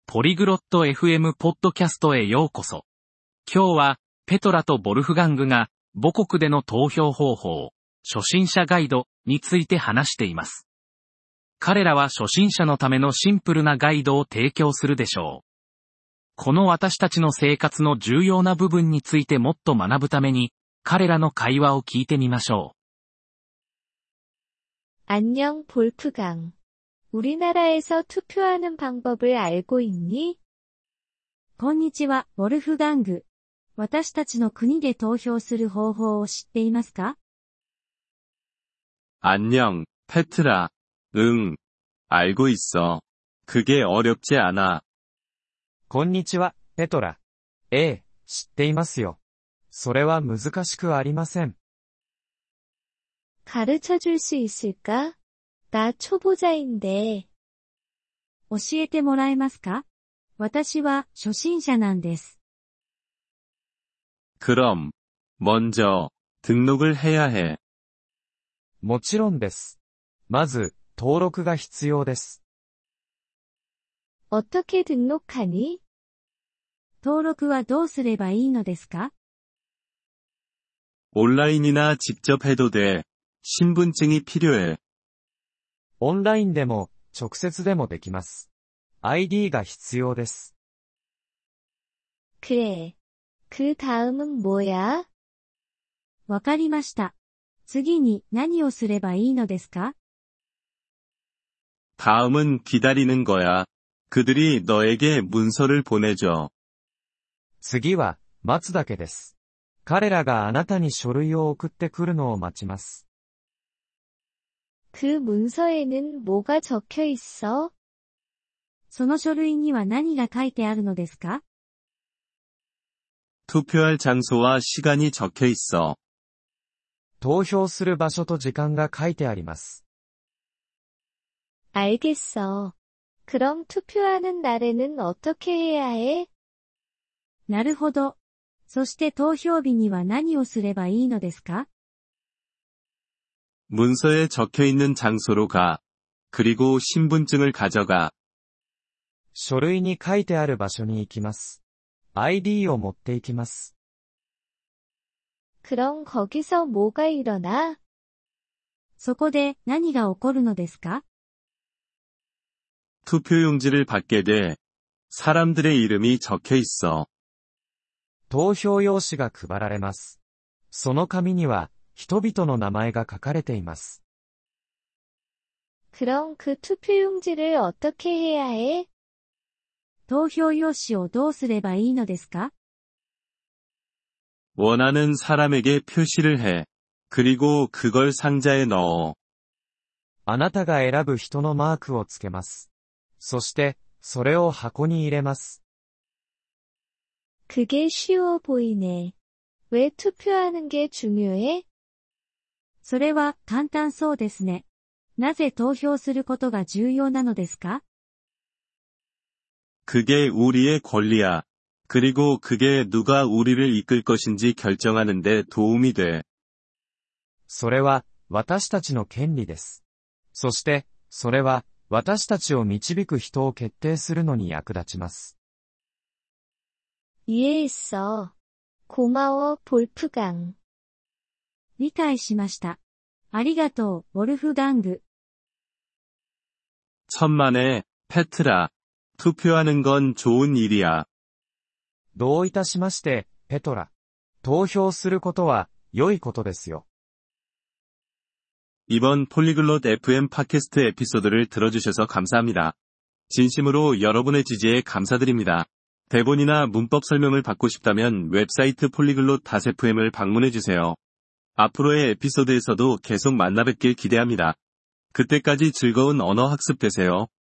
ポリグロット FM ポッドキャストへようこそ。今日は、ペトラとボルフガングが、母国での投票方法、初心者ガイドについて話しています。彼らは初心者のためのシンプルなガイドを提供するでしょう。この私たちの生活の重要な部分についてもっと学ぶために、彼らの会話を聞いてみましょう。안녕 볼프강. 우리나라에서 투표하는 방법을 알고 있니? こんにちは、ボルフガング。私たちの国で投票する方法を知っていますか？ 안녕, 페트라. 응, 알고 있어. 그게 어렵지 않아. こんにちは、ペトラ。ええ、知っていますよ。それは難しくありません。 가르쳐 줄 수 있을까? 나 초보자인데. 教えてもらえますか？私は初心者なんです。 그럼, 먼저, 등록을 해야 해. もちろんです。まず、登録が必要です。 어떻게 등록하니? 登録はどうすればいいのですか？ 온라인이나 직접 해도 돼. 신분증이 필요해. オンラインでも、直接でもできます。ID が必要です。 그래. 그 다음은 뭐야? わかりました。次に何をすればいいのですか？ 다음은 기다리는 거야. 그들이 너에게 문서를 보내줘. 次は、待つだけです。彼らがあなたに書類を送ってくるのを待ちます。 그 문서에는 뭐가 적혀 있어? その書類には何が書いてあるのですか？ 투표할 장소와 시간이 적혀 있어. 投票する場所と時間が書いてあります。 알겠어. 그럼 투표하는 날에는 어떻게 해야 해? なるほど。そして投票日には何をすればいいのですか？ 문서에 적혀 있는 장소로 가. 그리고 신분증을 가져가. 書類に書いてある場所に行きます。ID を持って行きます。 그럼 거기서 뭐가 일어나? そこで何が起こるのですか？ 투표용지를 받게 돼. 사람들의 이름이 적혀 있어. 投票用紙が配られます。その紙には、人々の名前が書かれています。 그럼 그 투표용지를 어떻게 해야 해? 投票用紙をどうすればいいのですか？ 원하는 사람에게 표시를 해. 그리고 그걸 상자에 넣어. あなたが選ぶ人のマークをつけます。そして、それを箱に入れます。 그게 쉬워 보이네. 왜 투표하는 게 중요해? それは簡単そうですね。なぜ投票することが重要なのですか？ 그게 우리의 권리야. 그리고 그게 누가 우리를 이끌 것인지 결정하는 데 도움이 돼. それは、私たちの権利です。そして、それは、私たちを導く人を決定するのに役立ちます。 이해했어. 고마워, 볼프강. 理解しました。ありがとう、ボルフガング。 천만에, 페트라. 투표하는 건 좋은 일이야. どういたしまして、ペトラ。投票することは、良いことですよ。 이번 폴리글롯 FM 팟캐스트 에피소드를 들어주셔서 감사합니다. 진심으로 여러분의 지지에 감사드립니다. 대본이나 문법 설명을 받고 싶다면 웹사이트 polyglot.fm을 방문해주세요. 앞으로의 에피소드에서도 계속 만나뵙길 기대합니다. 그때까지 즐거운 언어 학습 되세요.